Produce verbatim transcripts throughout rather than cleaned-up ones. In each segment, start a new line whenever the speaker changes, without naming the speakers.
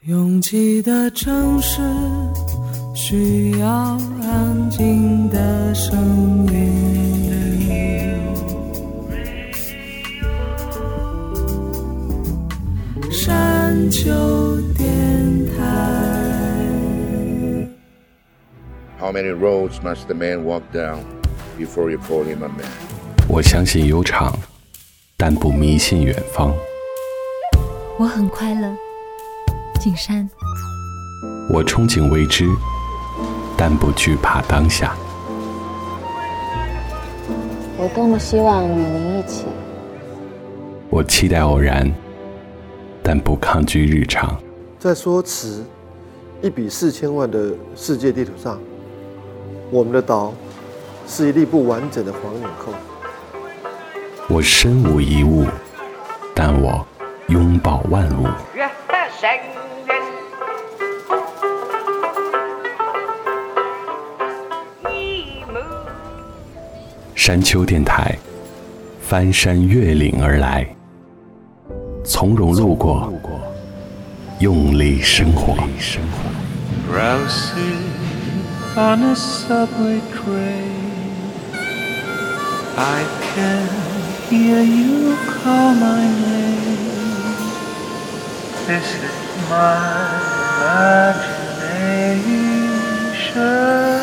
拥挤的城市需要安静的声音，山丘电台。
How many roads must the man walk down before you call him a man?
我相信悠长，但不迷信远方。
我很快乐，景山。
我憧憬未知，但不惧怕当下。
我多么希望与您一起。
我期待偶然，但不抗拒日常。
在说词一比四千万的世界地图上，我们的岛是一粒不完整的黄脸扣。
我身无一物，但我拥抱万物。山丘电台，翻山越岭而来，从容路过，用力生活。
Drowsy on a subway train, I can hear you call my name. This is my imagination.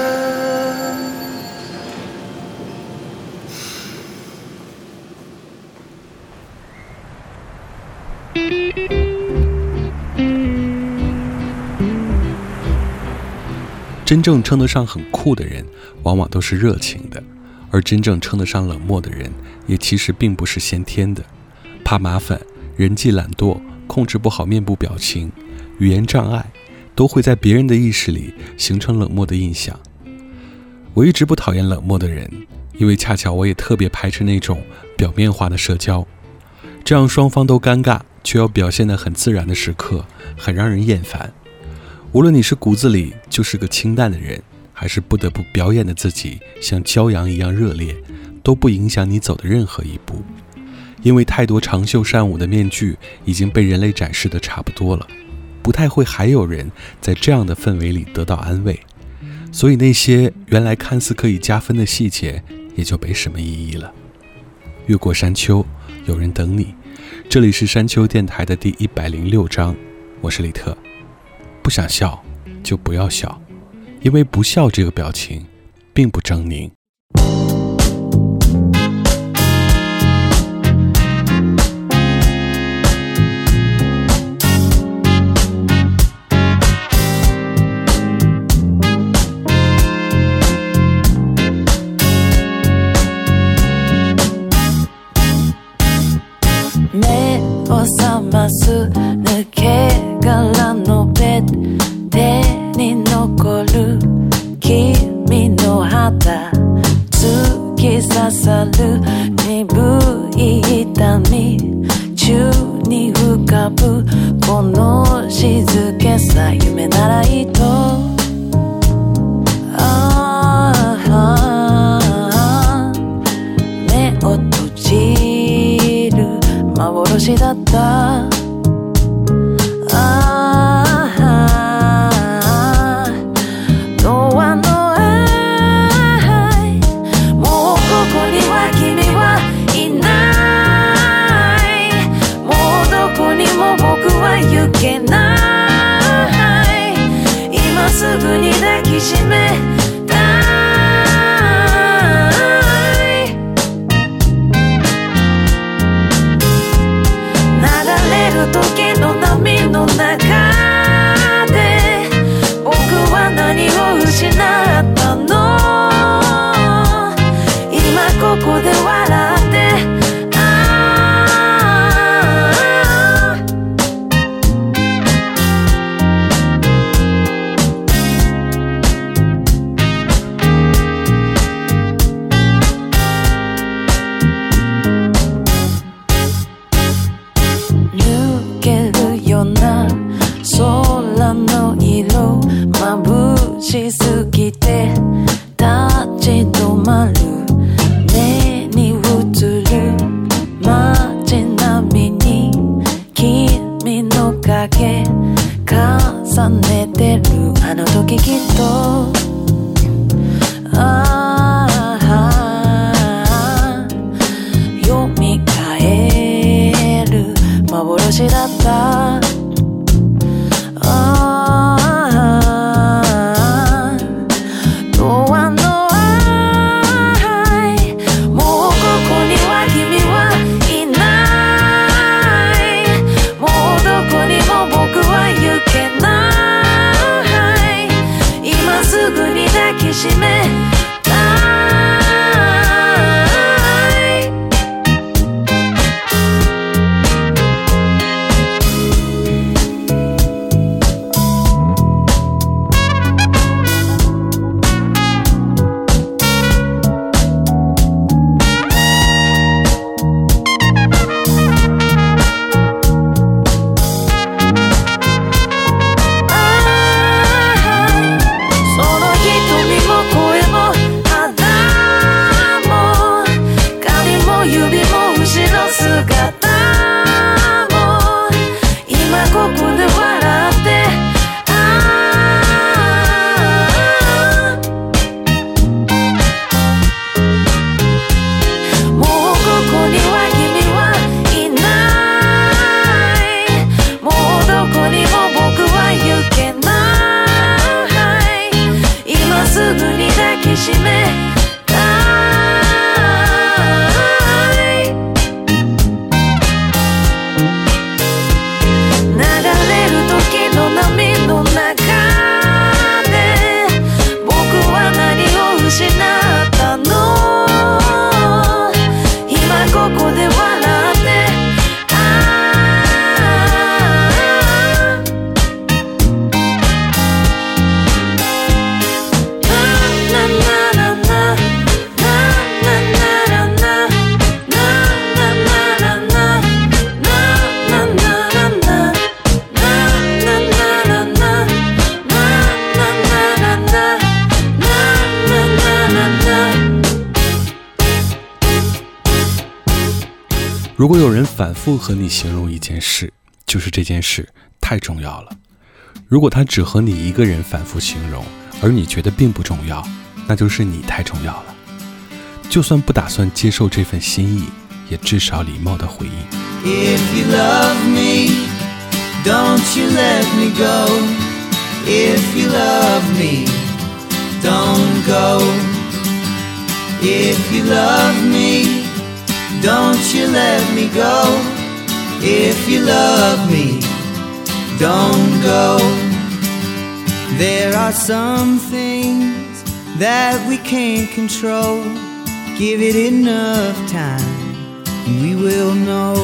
真正称得上很酷的人，往往都是热情的，而真正称得上冷漠的人，也其实并不是先天的。怕麻烦、人际懒惰、控制不好面部表情、语言障碍，都会在别人的意识里形成冷漠的印象。我一直不讨厌冷漠的人，因为恰巧我也特别排斥那种表面化的社交，这样双方都尴尬却要表现得很自然的时刻，很让人厌烦。无论你是骨子里就是个清淡的人，还是不得不表演的自己像骄阳一样热烈，都不影响你走的任何一步。因为太多长袖善舞的面具已经被人类展示的差不多了，不太会还有人在这样的氛围里得到安慰，所以那些原来看似可以加分的细节也就没什么意义了。越过山丘，有人等你。这里是山丘电台的第一百零六章，我是李特。不想笑就不要笑，因为不笑这个表情并不狰狞。
目を覚ます抜け殻のベッド手に残る君の肌突き刺さる鈍い痛み宙に浮かぶこの静けさ夢ならいいとああ目を閉じる幻だったすぐに抱きしめたい流れる時の波の中で僕は何を失ったの今ここで笑ってしすぎて立ち止まる目に映る街並みに君の影重ねてるあの時きっとああ蘇る幻だった締めたい
如果有人反复和你形容一件事，就是这件事太重要了。如果他只和你一个人反复形容，而你觉得并不重要，那就是你太重要了。就算不打算接受这份心意，也至少礼貌地回应。
If you love me, don't you let me go. If you love me, don't go. If you love me, don't you let me go. If you love me, don't go. There are some things that we can't control. Give it enough time and we will know.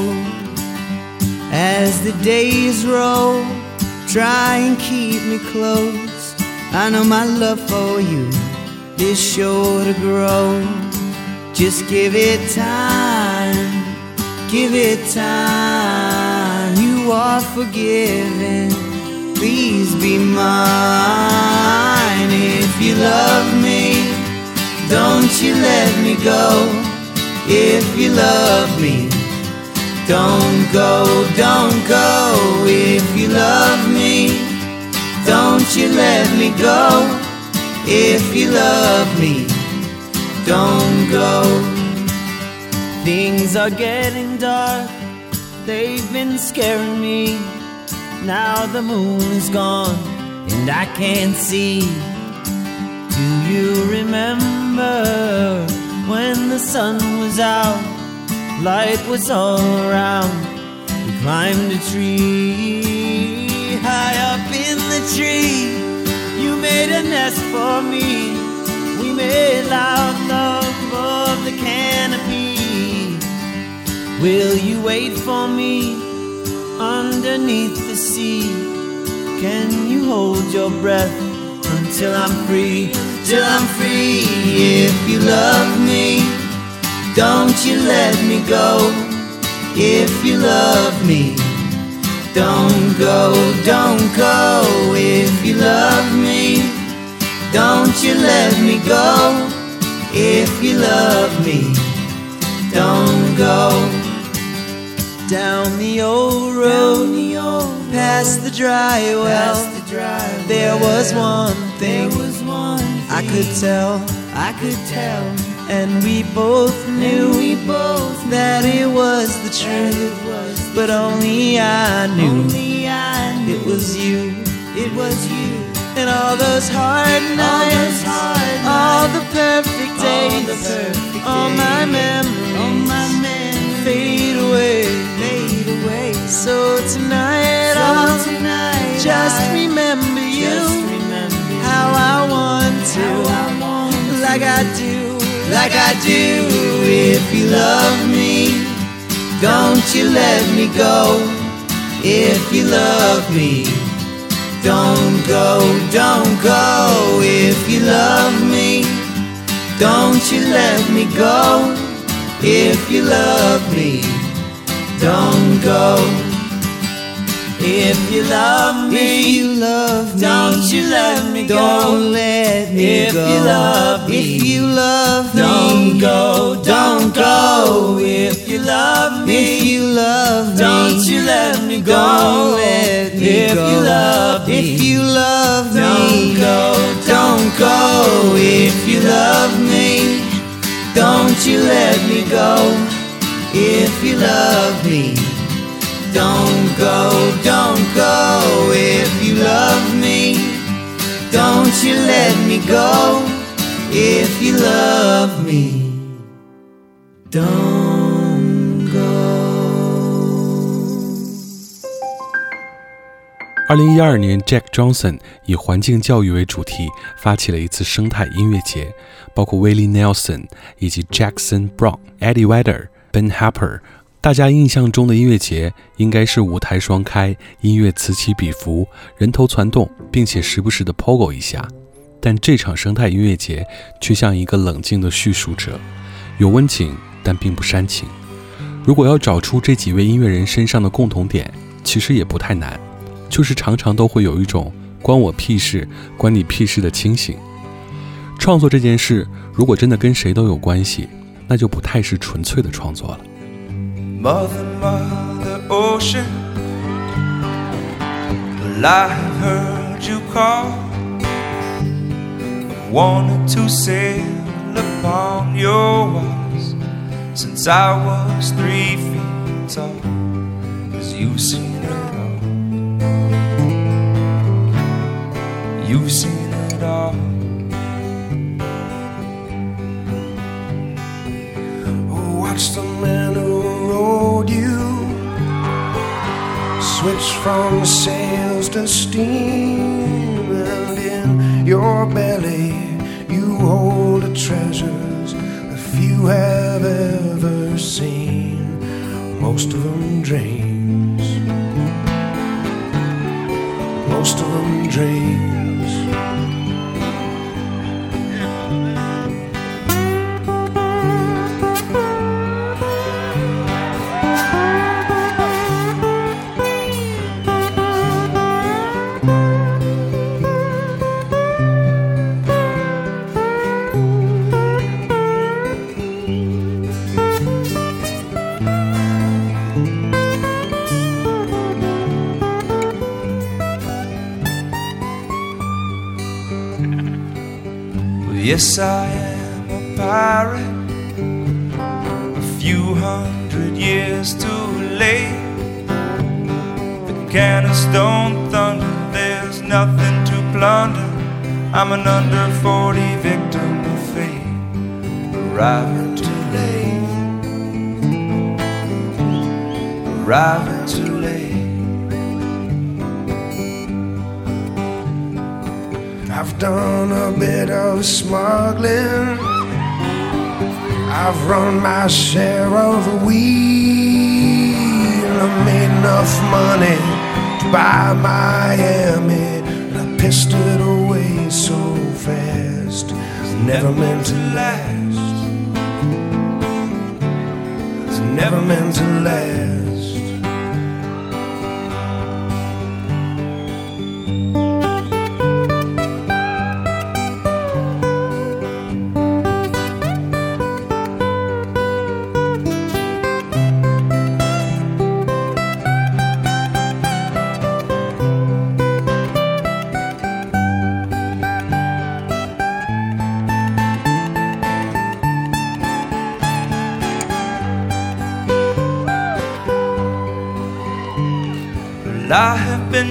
As the days roll, try and keep me close. I know my love for you is sure to grow. Just give it time, give it time. You are forgiven, please be mine. If you love me, don't you let me go. If you love me, don't go, don't go. If you love me, don't you let me go. If you love me, don't go. Things are getting dark, they've been scaring me. Now the moon is gone and I can't see. Do you remember when the sun was out? Light was all around. We climbed a tree. High up in the tree, you made a nest for me. We made loud love above the canopy. Will you wait for me underneath the sea? Can you hold your breath until I'm free? Till I'm free. If you love me, don't you let me go. If you love me, don't go, don't go. If you love me, don't you let me go. If you love me, don't go. Down the old road, past the dry well. There was one thing I could tell, I could tell, and we both knew we both that it was the truth, but only I knew it was you, it was you. And all those hard nights, all the perfect days, all my memories fade away, fade away. So tonight I'll just remember you, how I want to, like I do, like I do. If you love me, don't you let me go. If you love me, don't go, don't go. If you love me, don't you let me go. If you love me, don't go. If you love me, if you love me, don't you let me go. Don't let me if go. If you love me, if you love me, don't go, don't go. If you love me, if you love me, don't you let me go. Don't let me if go. You love me, if you love me, don't go, don't go. If you love me, don't you let me go. If you love me, don't go, don't go. If you love me, don't you let me go. If you love me, don't go。
二零一二年 Jack Johnson 以环境教育为主题发起了一次生态音乐节，包括 Willie Nelson 以及 Jackson Brown、Eddie Vedder、Ben Harper。大家印象中的音乐节应该是舞台双开，音乐此起彼伏，人头攒动，并且时不时的 pogo 一下。但这场生态音乐节却像一个冷静的叙述者，有温情，但并不煽情。如果要找出这几位音乐人身上的共同点，其实也不太难，就是常常都会有一种关我屁事，关你屁事的清醒。创作这件事，如果真的跟谁都有关系，那就不太是纯粹的创作了。
Mother, Mother Ocean, well, I have heard you call. Wanted to sail upon your waters since I was three feet tall. 'Cause you've seen it all. You've seen it all. Watch the man who rode you switch from sails to steam, and in your belly you hold the treasures that few have ever seen, most of them dreams, most of them dreams. Yes, I am a pirate, a few hundred years too late. The cannons don't thunder, there's nothing to plunder. I'm an under forty victim of fate, arriving too late, arriving too late. I've done a bit of smuggling, I've run my share of the weed, I made enough money to buy Miami, and I pissed it away so fast. It's never meant to last, it's never meant to last.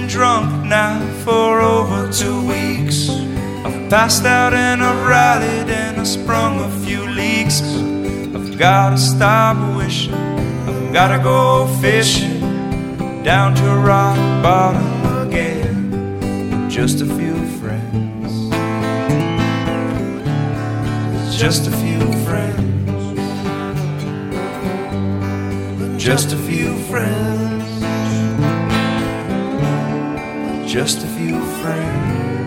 drunk now for over two weeks. I've passed out and I've rallied and I've sprung a few leaks. I've gotta stop wishing, I've gotta go fishing down to rock bottom again with just a few friends. Just a few friends. Just a few friends. Just a few friends.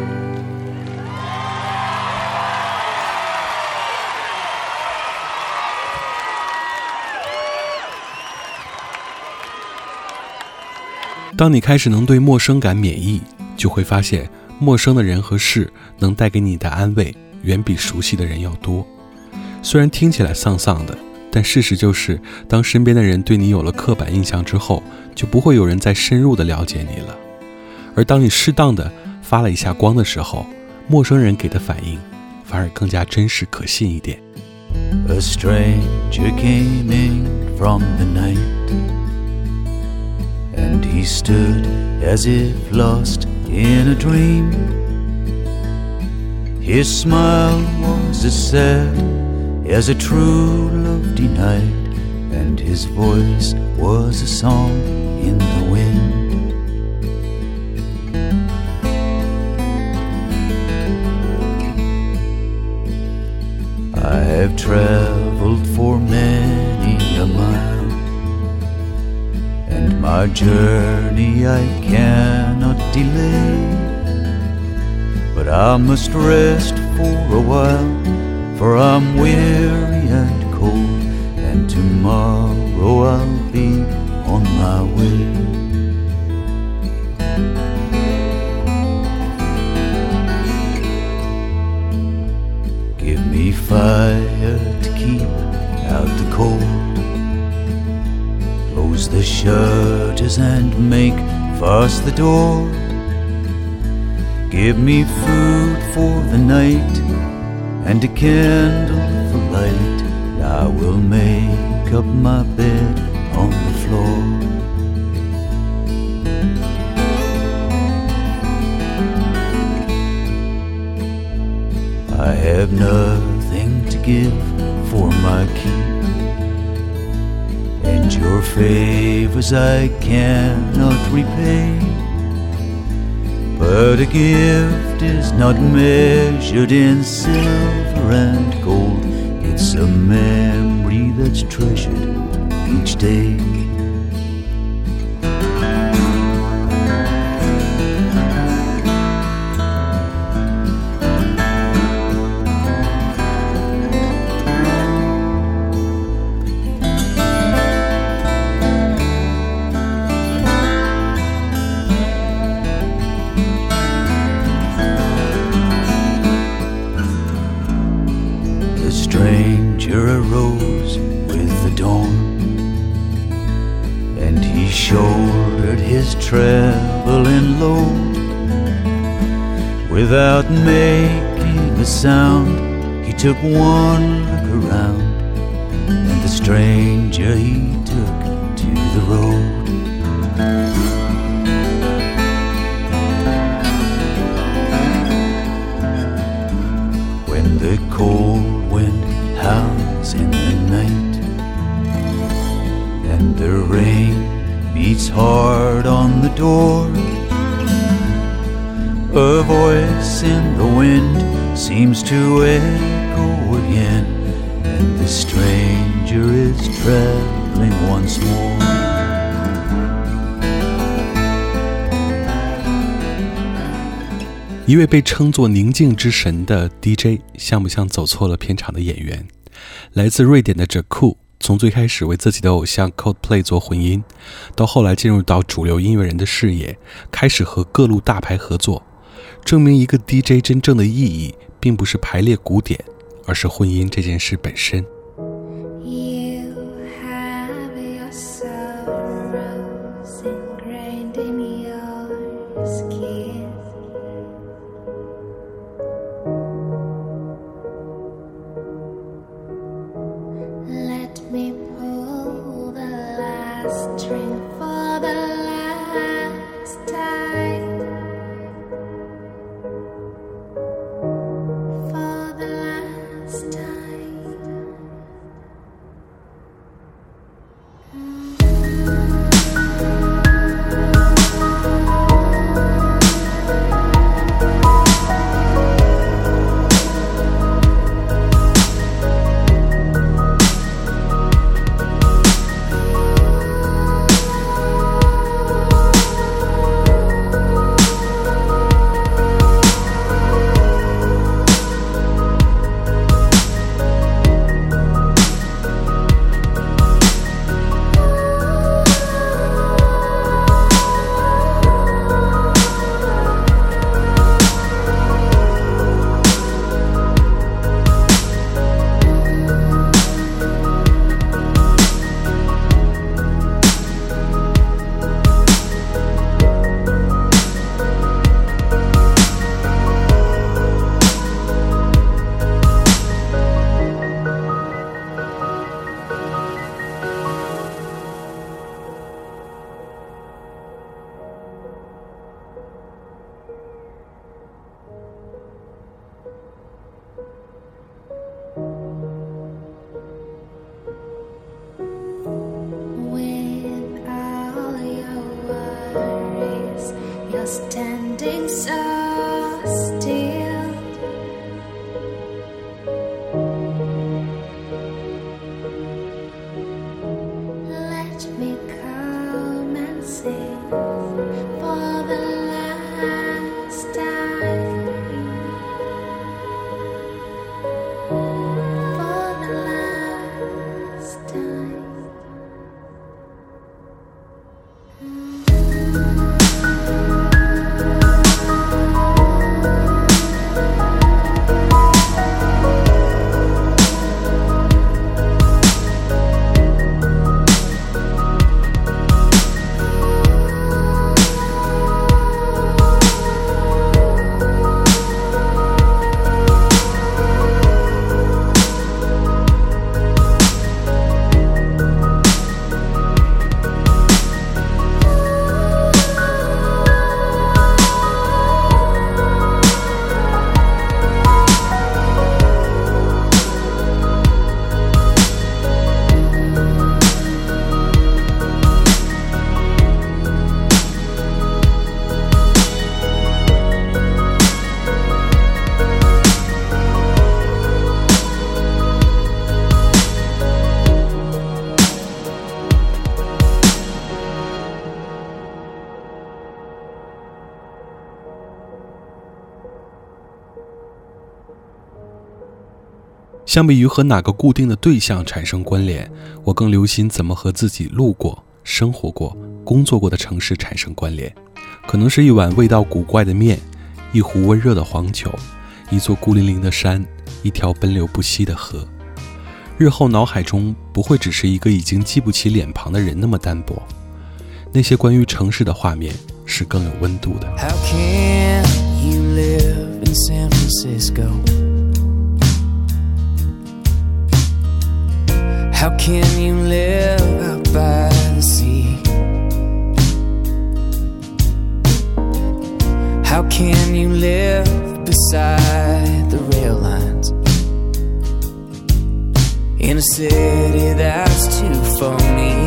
当你开始能对陌生感免疫，就会发现陌生的人和事能带给你的安慰远比熟悉的人要多。虽然听起来丧丧的，但事实就是，当身边的人对你有了刻板印象之后，就不会有人再深入的了解你了。而当你适当的发了一下光的时候，陌生人给的反应反而更加真实可信一点。
A stranger came in from the night, and he stood as if lost in a dream. His smile was as sad as a true love denied, and his voice was a song in the wind. I have traveled for many a mile, and my journey I cannot delay, but I must rest for a while, for I'm weary and cold, and tomorrow I'll be on my way. Give me fire to keep out the cold, close the shutters and make fast the door. Give me food for the night and a candle for light. I will make up my bed on the floor. I have nothing to give for my keep, and your favors I cannot repay. But a gift is not measured in silver and gold. It's a memory that's treasured each day. Arose with the dawn, and he shouldered his traveling load. Without making a sound, he took one look around, and the stranger he took to the road. When the cold wind howls in the night, and the rain beats hard on the door, a voice in the wind seems to echo again, and the stranger is traveling once more.
一位被称作宁静之神的 D J 像不像走错了片场的演员？来自瑞典的 Jaku 从最开始为自己的偶像 Coldplay 做混音，到后来进入到主流音乐人的视野，开始和各路大牌合作，证明一个 D J 真正的意义并不是排列鼓点，而是混音这件事本身。
String for the last time.
相比于和哪个固定的对象产生关联，我更留心怎么和自己路过、生活过、工作过的城市产生关联。可能是一碗味道古怪的面，一壶温热的黄酒，一座孤零零的山，一条奔流不息的河。日后脑海中不会只是一个已经记不起脸庞的人那么单薄，那些关于城市的画面是更有温度的。
How can you live in San Francisco? How can you live out by the sea? How can you live beside the rail lines in a city that's too phony?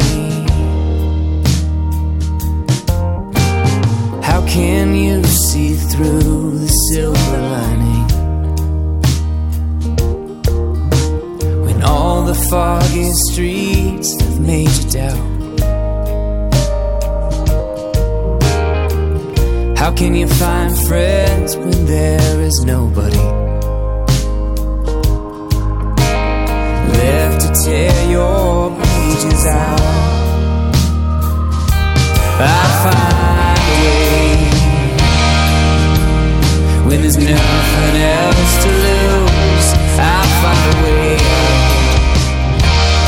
How can you see through the silver lining when all the foggy streets have made you doubt? How can you find friends when there is nobody left to tear your pages out? I find a way when there's nothing else to lose. I'll find a way out,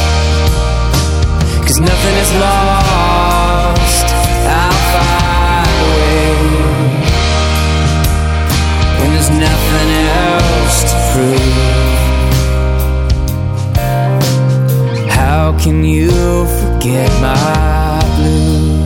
'cause nothing is lost. I'll find a way when there's nothing else to prove. How can you forget my blues?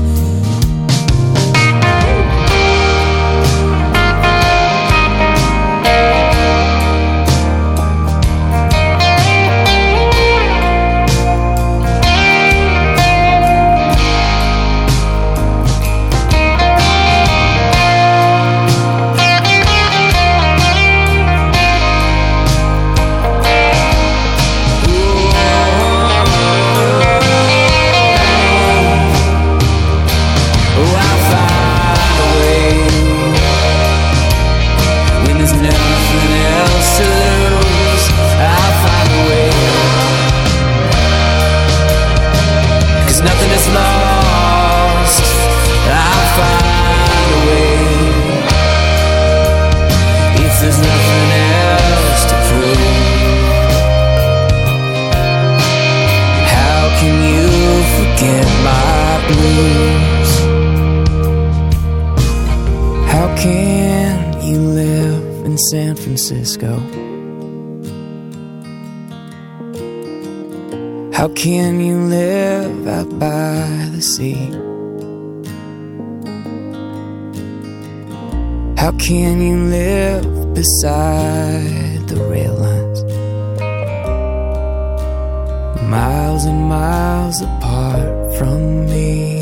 How can you live in San Francisco? How can you live out by the sea? How can you live beside the rail lines, miles and miles apart from me?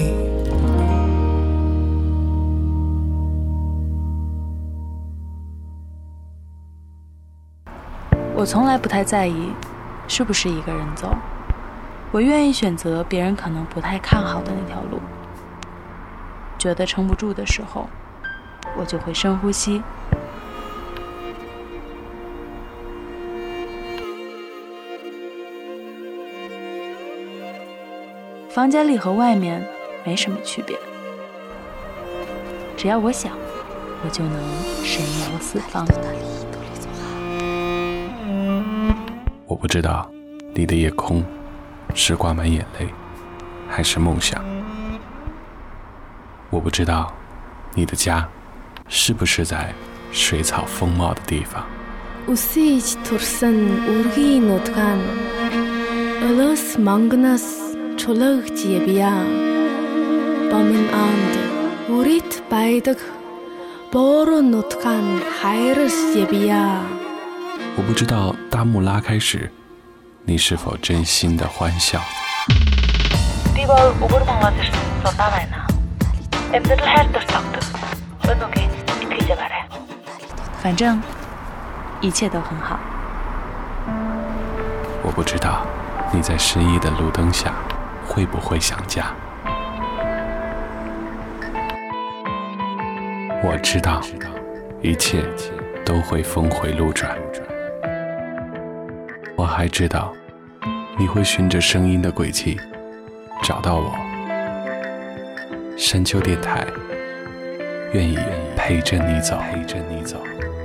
我从来不太在意是不是一个人走，我愿意选择别人可能不太看好的那条路。觉得撑不住的时候，我就会深呼吸。房间里和外面没什么区别，只要我想，我就能神游四方。
我不知道你的夜空是挂满眼泪还是梦想，我不知道你的家是不是在水草丰茂的地方。
Үсэж турсан үргийн нутгаан Олос мангнаас чулаагч явъя. Бомын анд үрит байдаг бороо нутгаан хайрс явъя.
我不知道大幕拉开时，你是否真心的欢笑。
反正一切都很好。
我不知道你在失意的路灯下会不会想家。我知道一切都会峰回路转。 还知道你会循着声音的轨迹找到我。山丘电台，愿意陪着你走，陪着你走。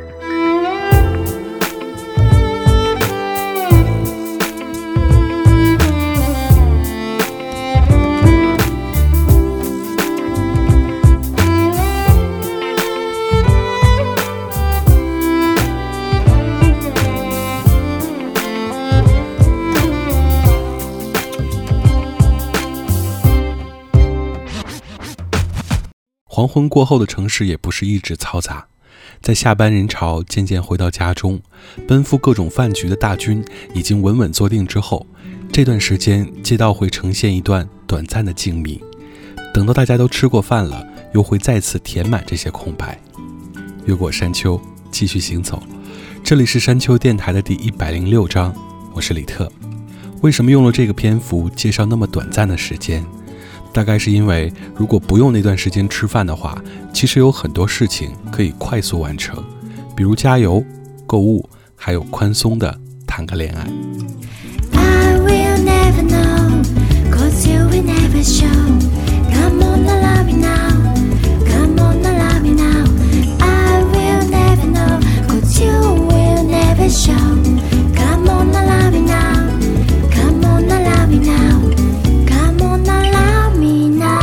黄昏过后的城市也不是一直嘈杂，在下班人潮渐渐回到家中，奔赴各种饭局的大军已经稳稳坐定之后，这段时间街道会呈现一段短暂的静谧，等到大家都吃过饭了，又会再次填满这些空白。越过山丘，继续行走。这里是山丘电台的第一百零六章，我是李特。为什么用了这个篇幅介绍那么短暂的时间？大概是因为如果不用那段时间吃饭的话，其实有很多事情可以快速完成，比如加油、购物，还有宽松的谈个恋爱。
I will never know, 'cause you will never show. Come on, love me now. Come on, love me now. I will never know, 'cause you will never show. Come on, love me now. Come on, love me now. Come on, love me now.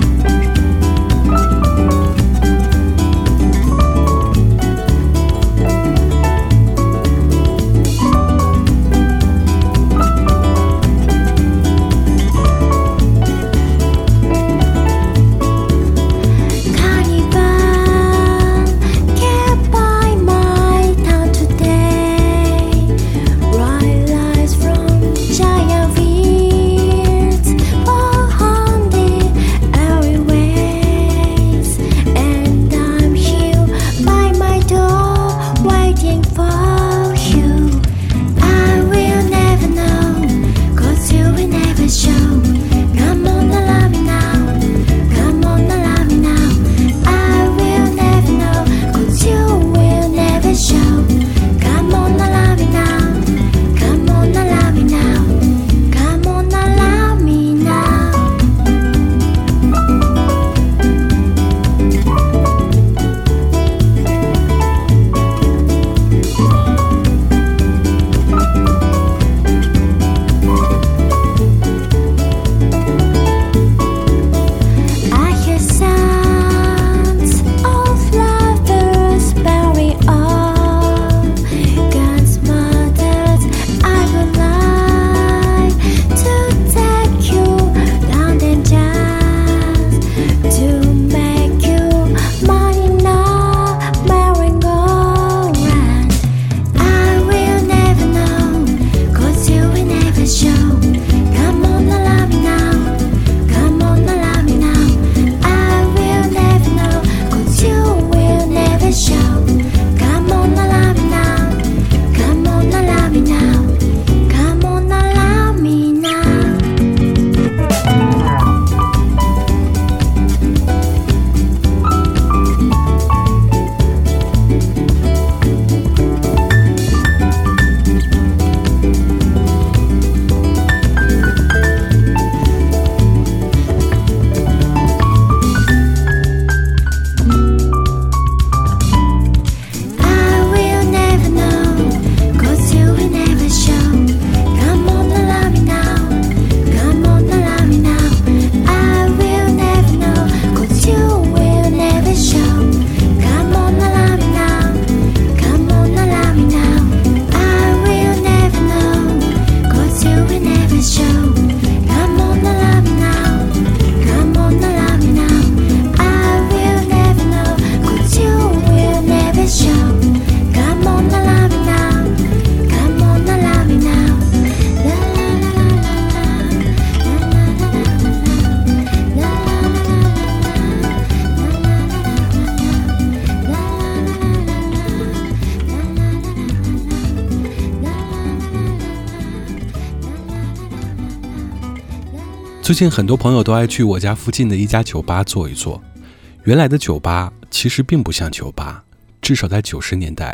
最近很多朋友都爱去我家附近的一家酒吧坐一坐。原来的酒吧其实并不像酒吧，至少在九十年代，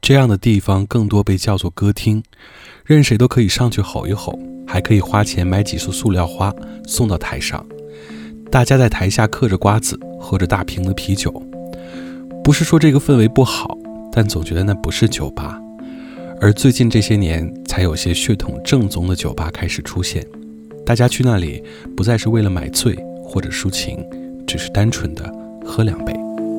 这样的地方更多被叫做歌厅，任谁都可以上去吼一吼，还可以花钱买几束塑料花送到台上。大家在台下嗑着瓜子，喝着大瓶的啤酒。不是说这个氛围不好，但总觉得那不是酒吧。而最近这些年，才有些血统正宗的酒吧开始出现。大家去那里不再是为了买醉或者抒情，只是单纯的喝两杯。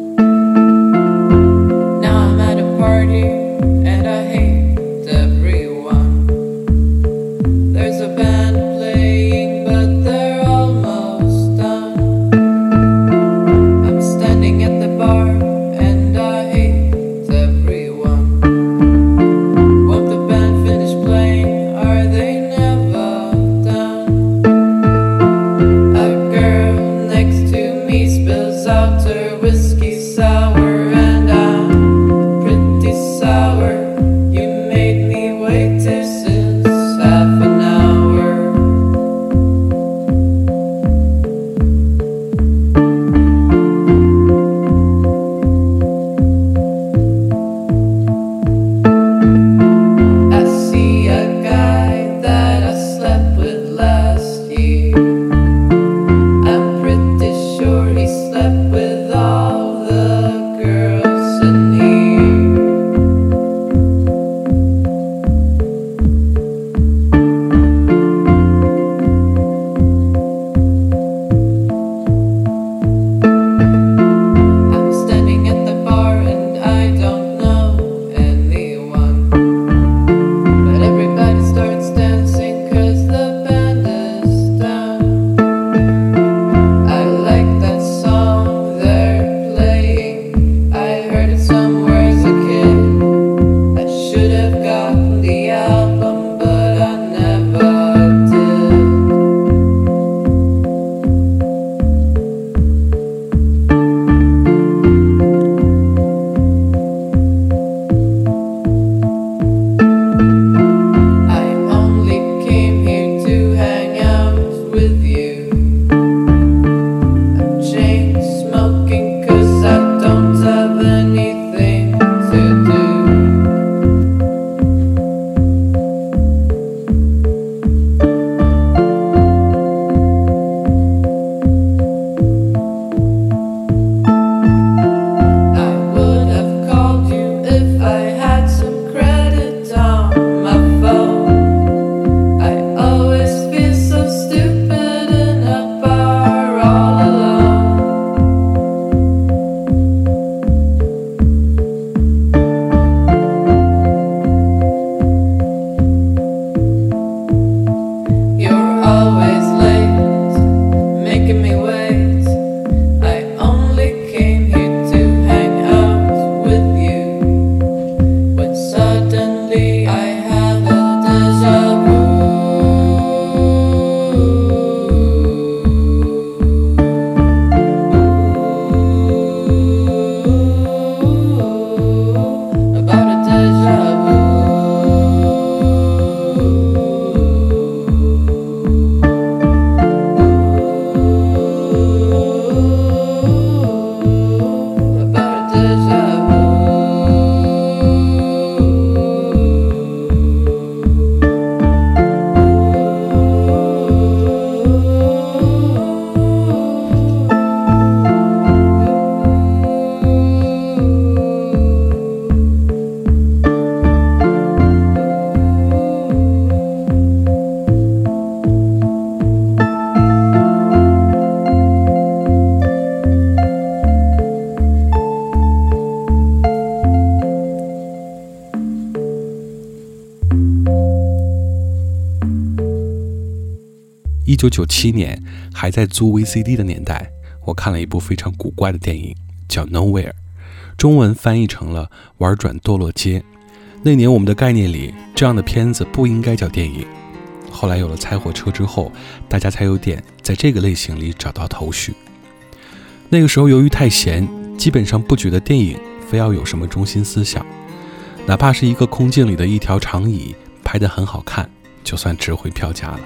一九九七年，还在租 V C D 的年代，我看了一部非常古怪的电影，叫 Nowhere， 中文翻译成了玩转堕落街。那年我们的概念里，这样的片子不应该叫电影。后来有了猜火车之后，大家才有点在这个类型里找到头绪。那个时候由于太闲，基本上不觉得电影非要有什么中心思想，哪怕是一个空镜里的一条长椅拍得很好看，就算值回票价了。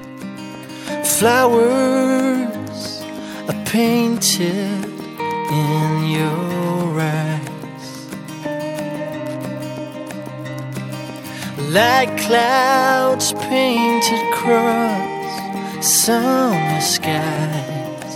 Flowers are painted in your eyes. like clouds painted across summer skies.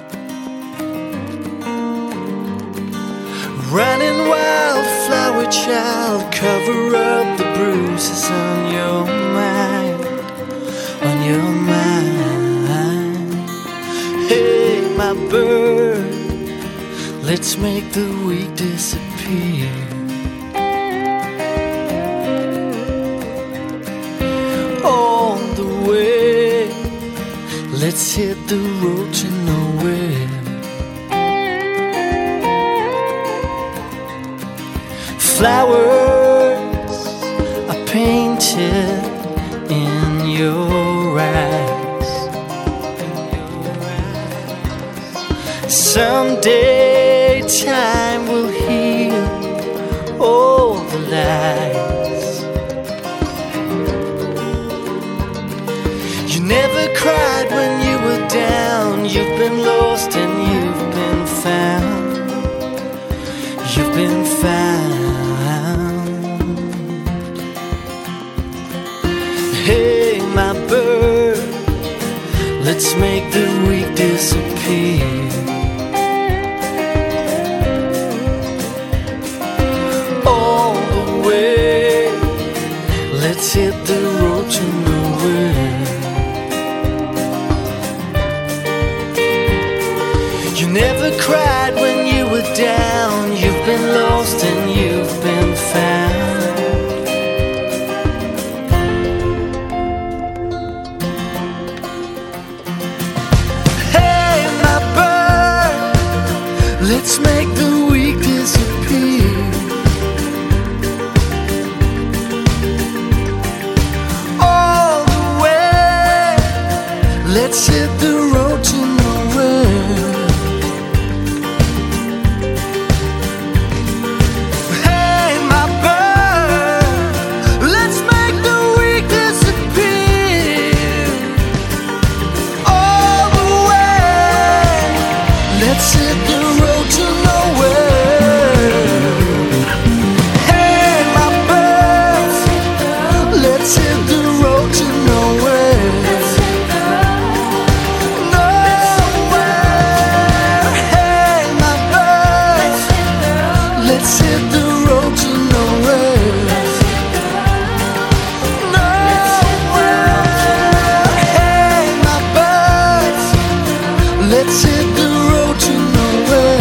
Running wildflower child, cover up the bruises on your mind, on your mind. Hey, my bird, let's make the weak disappear. On the way, let's hit the road to nowhere. Flowers are painted in your eyes. Someday time will heal all the lies. You never cried when you were down. You've been lost and you've been found. You've been found. Hey, my bird, let's make the weak disappear. All the way, let's hit the road to nowhere. You never cried when you were down. You've been lost and you've been found. Let's make the weak disappear. All the way, let's hit the road to nowhere. Hey, my bird, let's make the weak disappear. All the way, let's hit the road to nowhere. Hey, my birds, let's hit the road to nowhere. Nowhere. Hey, my birds, let's hit the road to nowhere. Nowhere. Hey, my birds, let's hit the road to nowhere.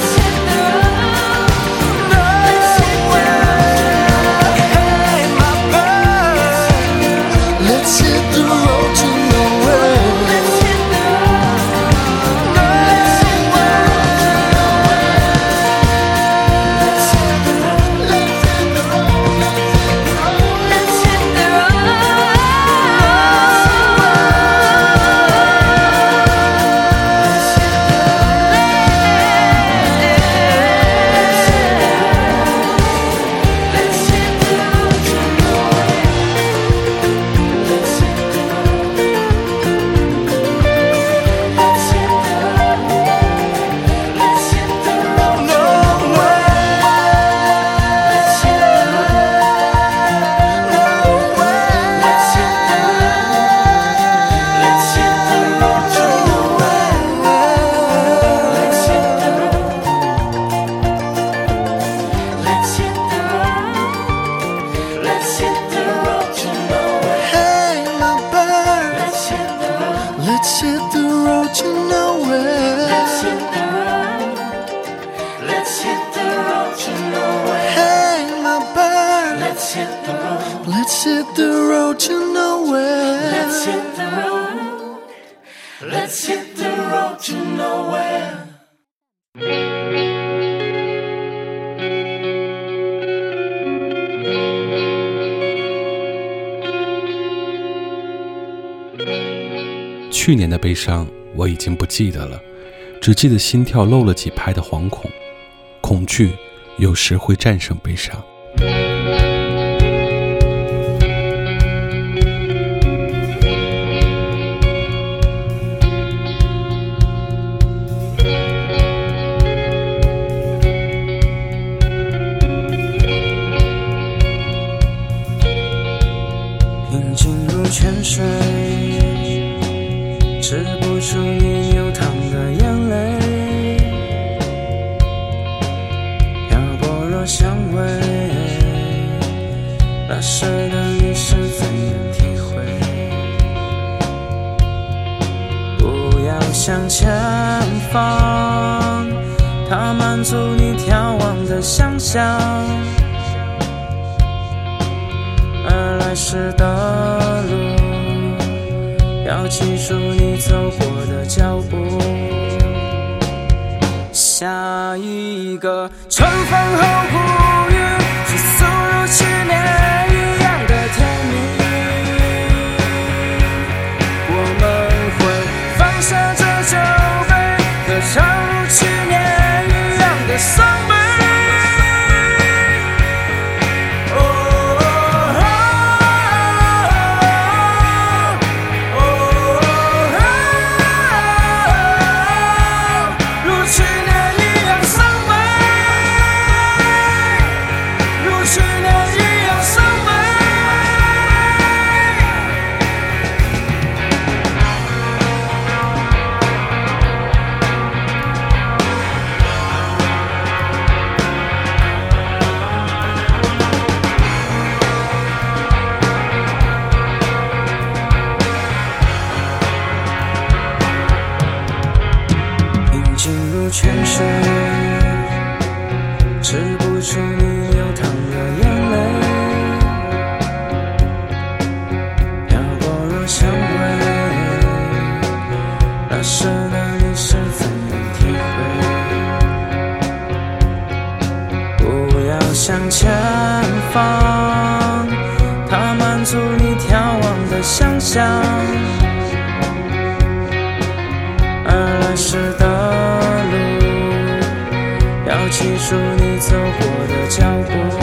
Let's hit the road to nowhere. Let's hit the road. Let's hit the road to nowhere. Hey, my bird. Let's hit the road. Let's hit the road to nowhere. Let's hit the road. Let's hit the road to nowhere.
去年的悲伤我已经不记得了，只记得心跳漏了几拍的惶恐，恐惧有时会战胜悲伤。
泉水，止不住你流淌的眼泪。漂泊若香味，那时的你是怎样体会？不要向前方，它满足你眺望的想象，而来时的路，要记住你走过的脚步。下一个春风后谷雨，是速如去年一样的甜蜜。我们会放下这酒杯，歌唱如去年一样的伤悲。进入泉水，止不住你流淌的眼泪。漂泊若香味，那时的你是怎样体会？不要向前方，它满足你眺望的想象，而来时的要记住你走过的脚步。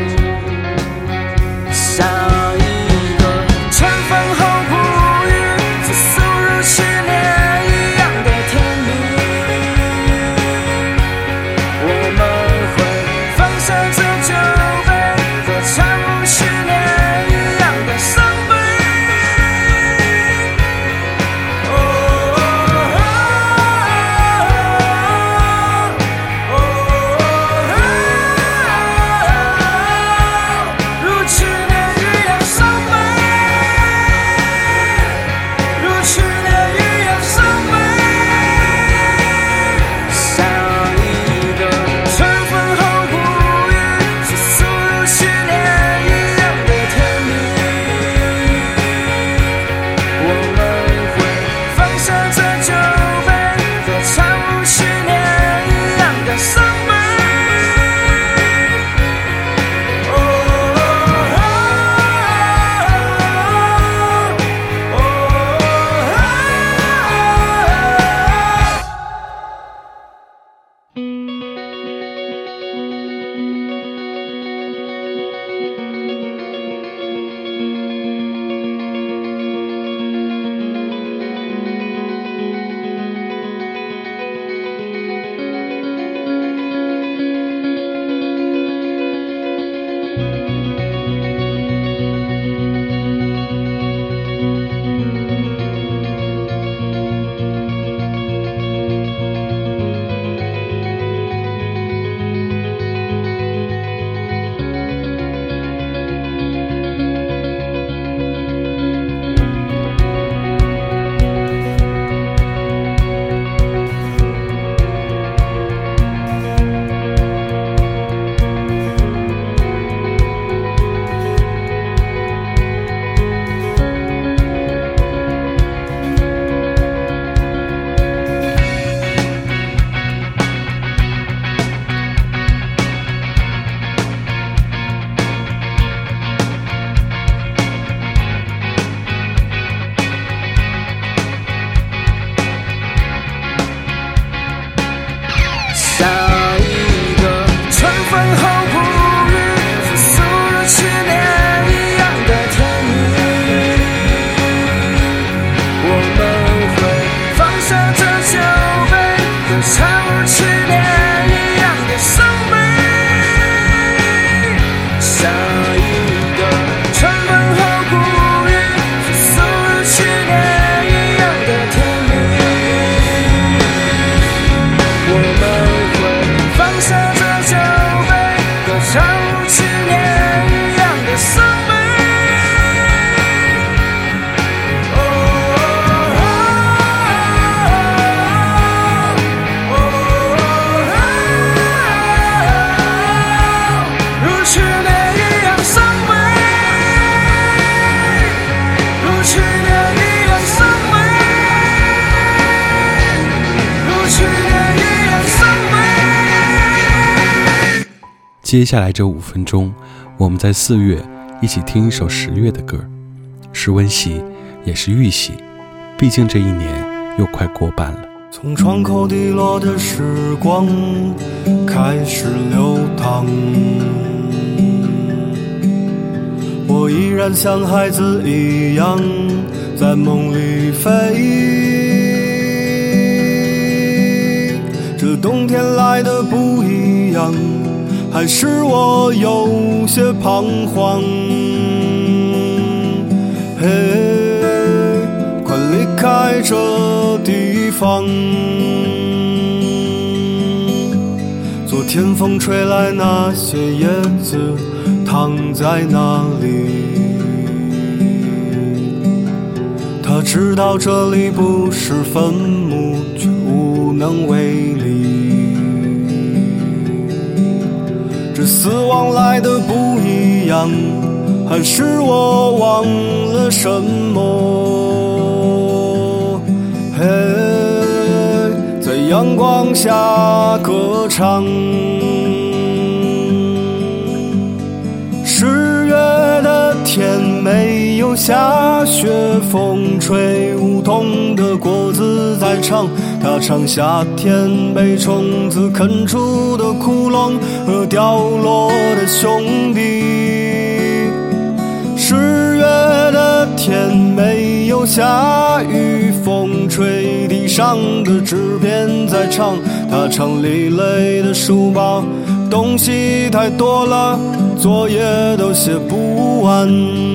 下一个春风后谷雨，是速如去年一样的甜蜜。我们会放下这酒杯，歌唱如去年一样的伤悲。
像如去年一样的伤悲。如去年一样伤悲，如去年一样伤悲，如去年一样伤悲。
接下来这五分钟，我们在四月一起听一首十月的歌，是温习，也是预习，毕竟这一年又快过半了。
从窗口滴落的时光开始流淌，我依然像孩子一样在梦里飞。这冬天来的不一样，还是我有些彷徨。嘿，快离开这地方。昨天风吹来，那些叶子躺在那里。他知道这里不是坟墓，却无能为力。这死亡来的不一样，还是我忘了什么？嘿，在阳光下歌唱。十月的天没有下雪，风吹梧桐的果子在唱，它唱夏天被虫子啃出的窟窿和掉落的兄弟。十月的天没有下雨，风吹地上的纸片在唱，它唱累累的书包，东西太多了，作业都写不完。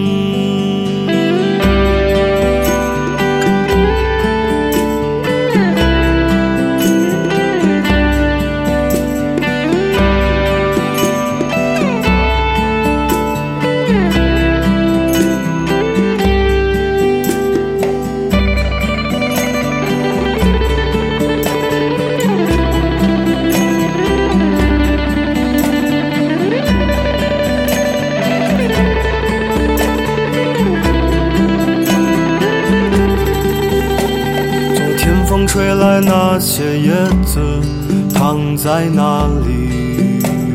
风吹来，那些叶子躺在那里。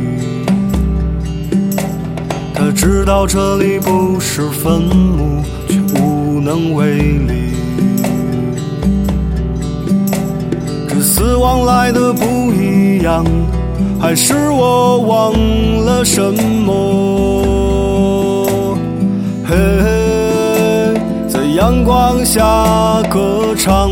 他知道这里不是坟墓，却无能为力。这死亡来的不一样，还是我忘了什么？嘿，在阳光下歌唱。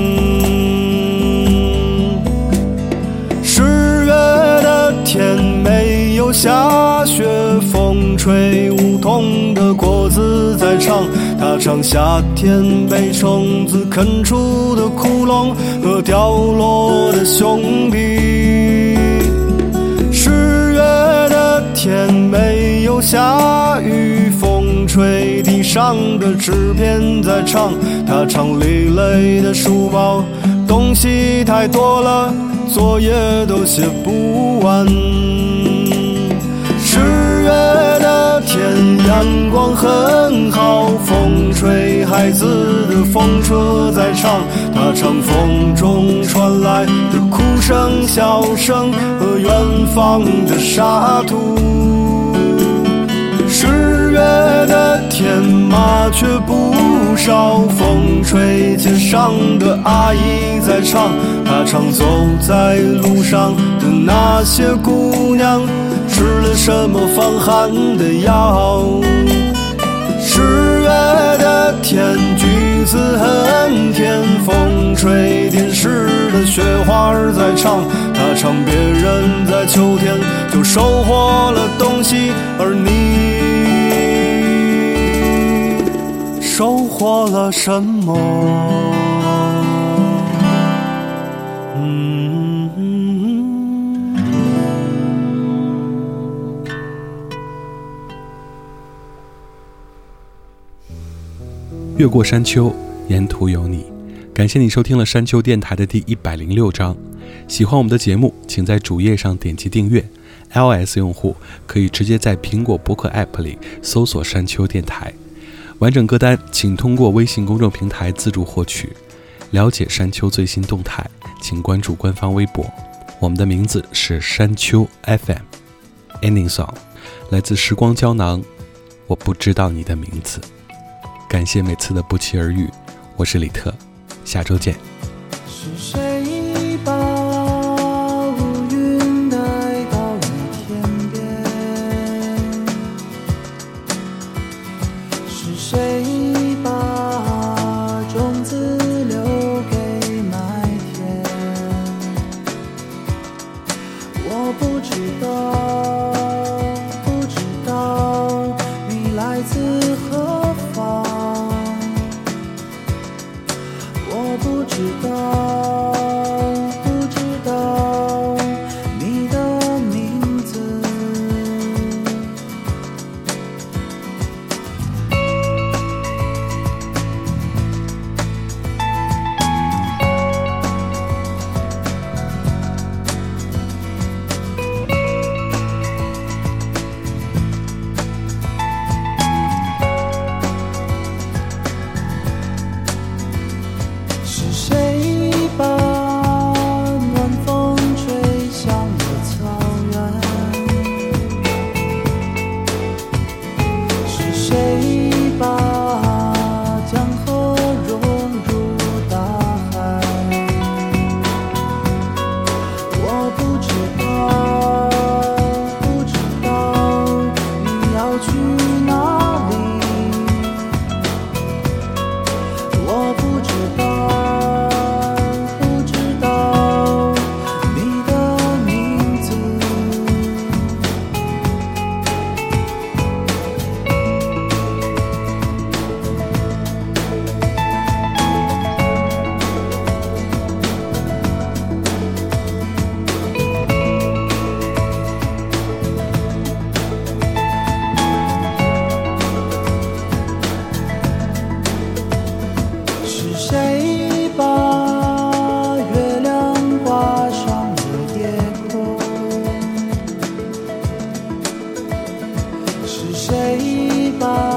天没有下雪，风吹梧桐的果子在唱，它唱夏天被虫子啃出的窟窿和掉落的兄弟。十月的天没有下雨，风吹地上的纸片在唱，它唱累累的书包，东西太多了，作业都写不完。十月的天阳光很好，风吹孩子的风车在唱，它唱风中传来的哭声笑声和远方的沙土。十月的天麻雀不少，风吹街上的阿姨在唱，她唱走在路上的那些姑娘吃了什么防寒的药。十月的天橘子很甜，风吹电视的雪花在唱，她唱别人在秋天就收获了东西，而你收获了什么？嗯。
越过山丘，沿途有你。感谢你收听了山丘电台的第一百零六章。喜欢我们的节目，请在主页上点击订阅。iOS 用户可以直接在苹果播客 App 里搜索山丘电台。完整歌单请通过微信公众平台自助获取。了解山丘最新动态，请关注官方微博。我们的名字是山丘 F M。Ending song 来自时光胶囊，我不知道你的名字。感谢每次的不期而遇，我是李特，下周见。
是谁把乌云带到你天边？是谁把种子留给麦田？我不知道，不知道你来自何方。我不知道，不知道你的名字。是谁把暖风吹向了草原？是谁把江河融入大海？我不知道，不知道你要去哪里。我不知道。是谁把月亮挂上了夜空？是谁把